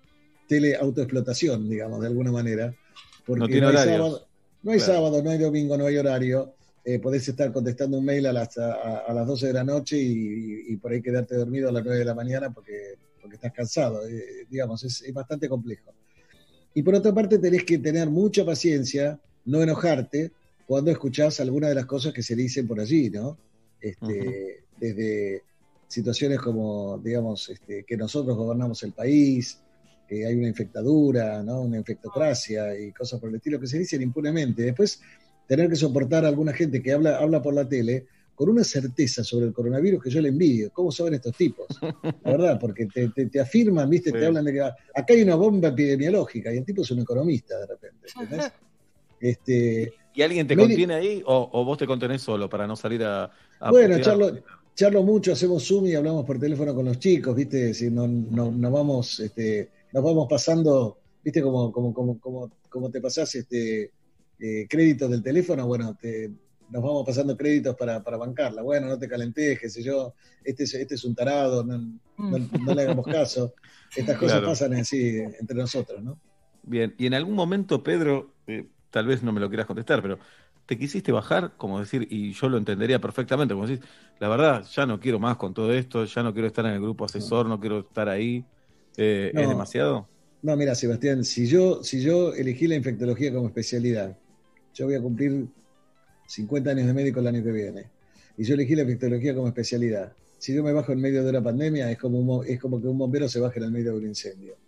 teleautoexplotación, digamos, de alguna manera. Porque no tiene no hay horarios. sábado, no hay Claro. sábado, no hay domingo, no hay horario. Eh, podés estar contestando un mail a las, a, a las doce de la noche y, y, y por ahí quedarte dormido a las nueve de la mañana porque, porque estás cansado. Eh, digamos, es, es bastante complejo. Y por otra parte tenés que tener mucha paciencia, no enojarte cuando escuchás algunas de las cosas que se dicen por allí, ¿no? Este, uh-huh. Desde situaciones como, digamos, este, que nosotros gobernamos el país, que hay una infectadura, ¿no? Una infectocracia y cosas por el estilo que se dicen impunemente. Después, tener que soportar a alguna gente que habla, habla por la tele con una certeza sobre el coronavirus que yo le envidio. ¿Cómo saben estos tipos? La verdad, porque te, te, te afirman, ¿viste? Sí. Te hablan de que acá hay una bomba epidemiológica y el tipo es un economista de repente, ¿entendés? Este, ¿Y alguien te Mary, contiene ahí o, o vos te contenés solo para no salir a... a bueno, charlo, charlo mucho, hacemos Zoom y hablamos por teléfono con los chicos, ¿viste? Si no, no, nos, vamos, este, nos vamos pasando, ¿viste? Como, como, como, como, como te pasás este, eh, créditos del teléfono, bueno, te, nos vamos pasando créditos para, para bancarla. Bueno, no te calentes, qué sé yo, este es, este es un tarado, no, no, no le hagamos caso. Estas cosas claro. pasan así entre nosotros, ¿no? Bien, y en algún momento, Pedro... Eh, tal vez no me lo quieras contestar, pero ¿te quisiste bajar? Como decir, y yo lo entendería perfectamente, como decir, la verdad, ya no quiero más con todo esto, ya no quiero estar en el grupo asesor, no, no quiero estar ahí, eh, no, ¿es demasiado? No, mira, Sebastián, si yo, si yo elegí la infectología como especialidad, yo voy a cumplir cincuenta años de médico el año que viene, y yo elegí la infectología como especialidad. Si yo me bajo en medio de una pandemia, es como, un, es como que un bombero se baje en el medio de un incendio.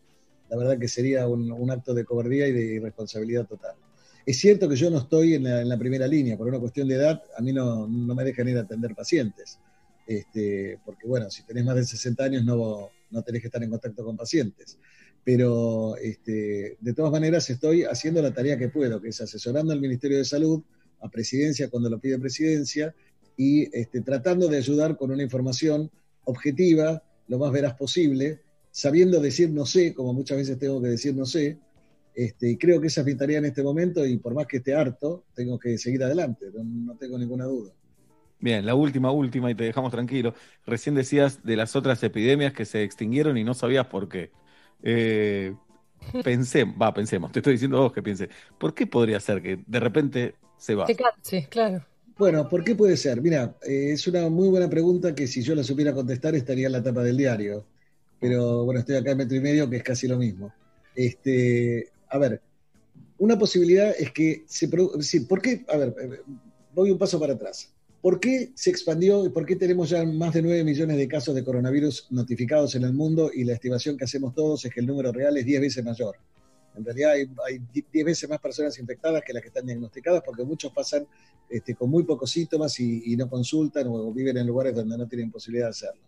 la verdad que sería un, un acto de cobardía y de irresponsabilidad total. Es cierto que yo no estoy en la, en la primera línea, por una cuestión de edad, a mí no, no me dejan ir a atender pacientes, este, porque bueno, si tenés más de sesenta años no, no tenés que estar en contacto con pacientes, pero este, de todas maneras estoy haciendo la tarea que puedo, que es asesorando al Ministerio de Salud, a Presidencia cuando lo pide Presidencia, y este, tratando de ayudar con una información objetiva, lo más veraz posible, sabiendo decir no sé, como muchas veces tengo que decir no sé, este, y creo que esa es mi tarea en este momento, y por más que esté harto, tengo que seguir adelante, no, no tengo ninguna duda. Bien, la última, última, y te dejamos tranquilo. Recién decías de las otras epidemias que se extinguieron y no sabías por qué. Eh, pensé, va, pensemos, te estoy diciendo a vos que pienses, ¿por qué podría ser que de repente se va? Se canse, claro. Bueno, ¿por qué puede ser? Mira, eh, es una muy buena pregunta que si yo la supiera contestar estaría en la tapa del diario. Pero bueno, estoy acá en metro y medio, que es casi lo mismo. Este, a ver, una posibilidad es que se produ- sí, ¿por qué? A ver, voy un paso para atrás. ¿Por qué se expandió y por qué tenemos ya más de nueve millones de casos de coronavirus notificados en el mundo y la estimación que hacemos todos es que el número real es diez veces mayor? En realidad hay, hay diez veces más personas infectadas que las que están diagnosticadas porque muchos pasan este, con muy pocos síntomas y, y no consultan o viven en lugares donde no tienen posibilidad de hacerlo.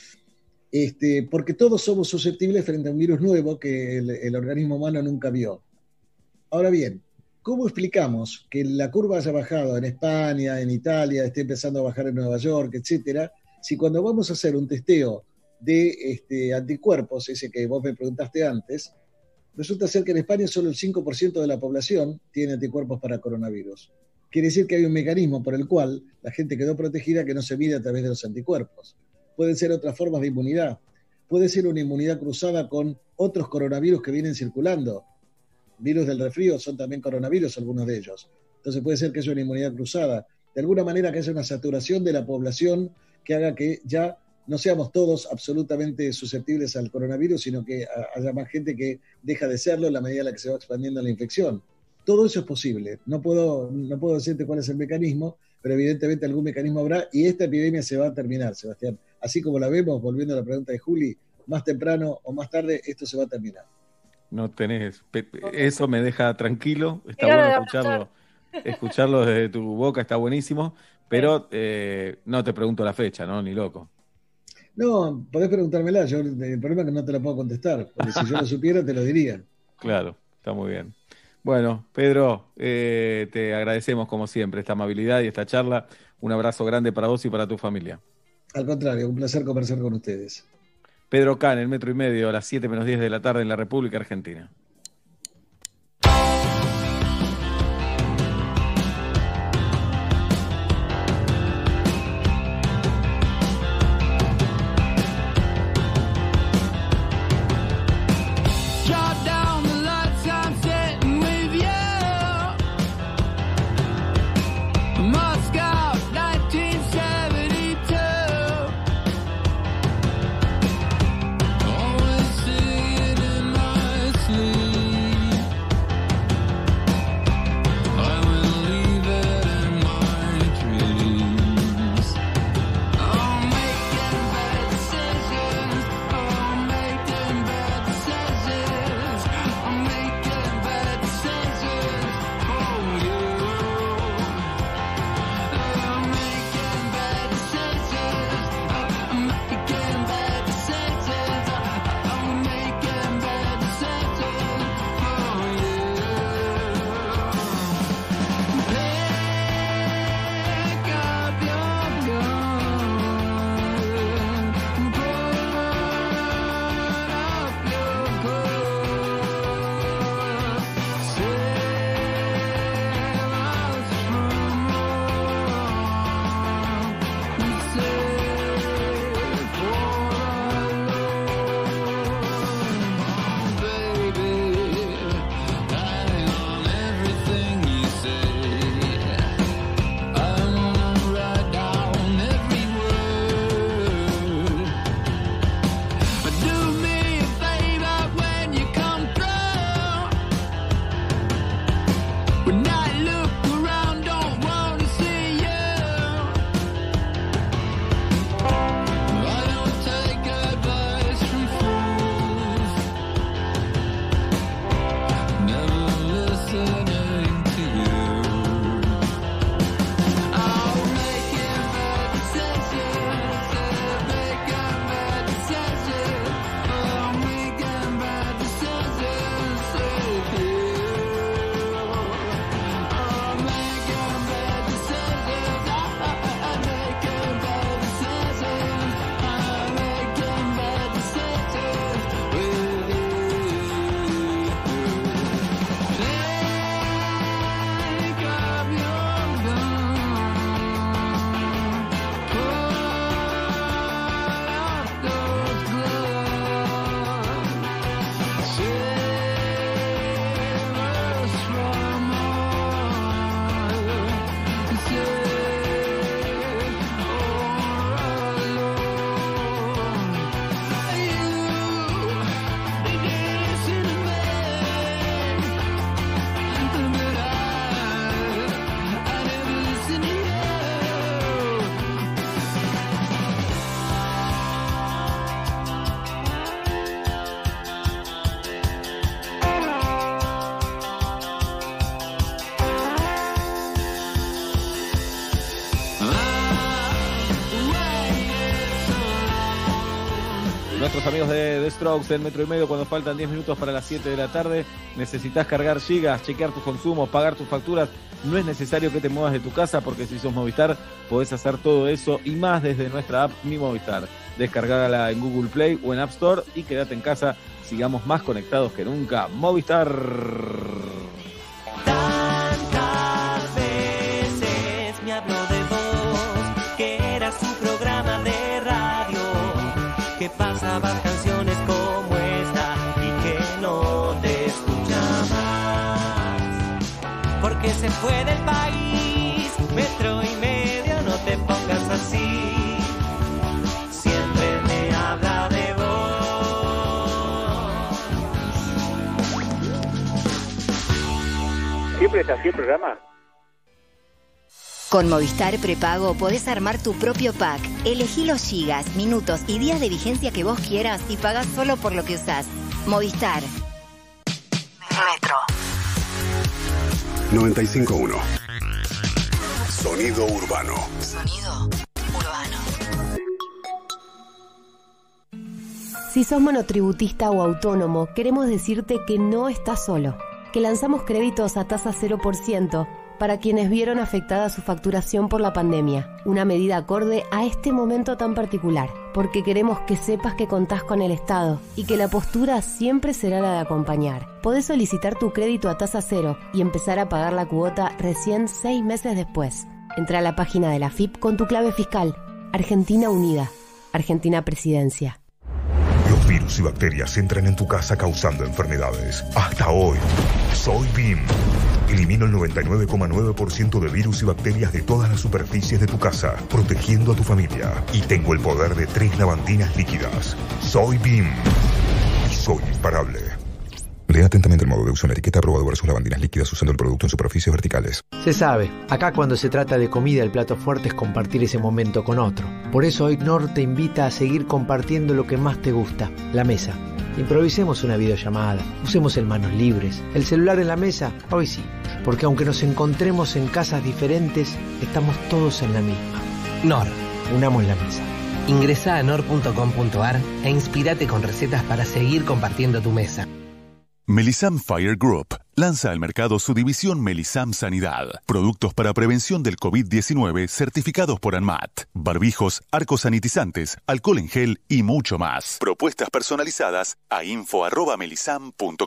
Este, porque todos somos susceptibles frente a un virus nuevo que el, el organismo humano nunca vio. Ahora bien, ¿cómo explicamos que la curva haya bajado en España, en Italia, esté empezando a bajar en Nueva York, etcétera, si cuando vamos a hacer un testeo de este, anticuerpos, ese que vos me preguntaste antes, resulta ser que en España solo el cinco por ciento de la población tiene anticuerpos para coronavirus? Quiere decir que hay un mecanismo por el cual la gente quedó protegida que no se mide a través de los anticuerpos. Pueden ser otras formas de inmunidad. Puede ser una inmunidad cruzada con otros coronavirus que vienen circulando. Virus del resfrío son también coronavirus, algunos de ellos. Entonces puede ser que haya una inmunidad cruzada. De alguna manera que haya una saturación de la población que haga que ya no seamos todos absolutamente susceptibles al coronavirus, sino que haya más gente que deja de serlo en la medida en la que se va expandiendo la infección. Todo eso es posible. No puedo, no puedo decirte cuál es el mecanismo, pero evidentemente algún mecanismo habrá y esta epidemia se va a terminar, Sebastián. Así como la vemos, volviendo a la pregunta de Juli, más temprano o más tarde esto se va a terminar. No tenés, eso me deja tranquilo, está bueno escucharlo, escucharlo desde tu boca, está buenísimo, pero eh, no te pregunto la fecha, ¿no? Ni loco. No, podés preguntármela, yo, el problema es que no te la puedo contestar, porque si yo lo supiera te lo diría. Claro, está muy bien. Bueno, Pedro, eh, te agradecemos como siempre esta amabilidad y esta charla. Un abrazo grande para vos y para tu familia. Al contrario, un placer conversar con ustedes. Pedro Can, el metro y medio, a las siete menos diez de la tarde en la República Argentina. nuestros amigos de The Strokes en Metro y Medio, cuando faltan diez minutos para las siete de la tarde, necesitas cargar gigas, chequear tus consumos, pagar tus facturas. No es necesario que te muevas de tu casa, porque si sos Movistar podés hacer todo eso y más desde nuestra app Mi Movistar. Descargala en Google Play o en App Store y quédate en casa. Sigamos más conectados que nunca. Movistar. Tantas veces me habló de vos, que era su programa de radio, que pasaban canciones como esta y que no te escuchaba más, porque se fue del país. Metro y Medio, no te pongas así, siempre me habla de vos. ¿Siempre es así el programa? Con Movistar Prepago podés armar tu propio pack. Elegí los gigas, minutos y días de vigencia que vos quieras y pagás solo por lo que usás. Movistar. Metro. noventa y cinco punto uno. Sonido urbano. Sonido urbano. Si sos monotributista o autónomo, queremos decirte que no estás solo. Que lanzamos créditos a tasa cero por ciento para quienes vieron afectada su facturación por la pandemia. Una medida acorde a este momento tan particular, porque queremos que sepas que contás con el Estado y que la postura siempre será la de acompañar. Podés solicitar tu crédito a tasa cero y empezar a pagar la cuota recién seis meses después. Entra a la página de la F I P con tu clave fiscal. Argentina Unida. Argentina Presidencia. Los virus y bacterias entran en tu casa causando enfermedades. Hasta hoy, soy B I M. Elimino el noventa y nueve coma nueve por ciento de virus y bacterias de todas las superficies de tu casa, protegiendo a tu familia. Y tengo el poder de tres lavandinas líquidas. Soy B I M. Y soy imparable. Lea atentamente el modo de uso en la etiqueta. Aprobado versus lavandinas líquidas usando el producto en superficies verticales. Se sabe, acá cuando se trata de comida el plato fuerte es compartir ese momento con otro. Por eso hoy Nor te invita a seguir compartiendo lo que más te gusta, la mesa. Improvisemos una videollamada, usemos el manos libres, el celular en la mesa, hoy sí, porque aunque nos encontremos en casas diferentes, estamos todos en la misma. Nor. Unamos la mesa. Ingresá a nor punto com punto ar e inspirate con recetas para seguir compartiendo tu mesa. Melisam Fire Group lanza al mercado su división Melisam Sanidad. Productos para prevención del COVID diecinueve certificados por ANMAT. Barbijos, arcos sanitizantes, alcohol en gel y mucho más. Propuestas personalizadas a info arroba melisam punto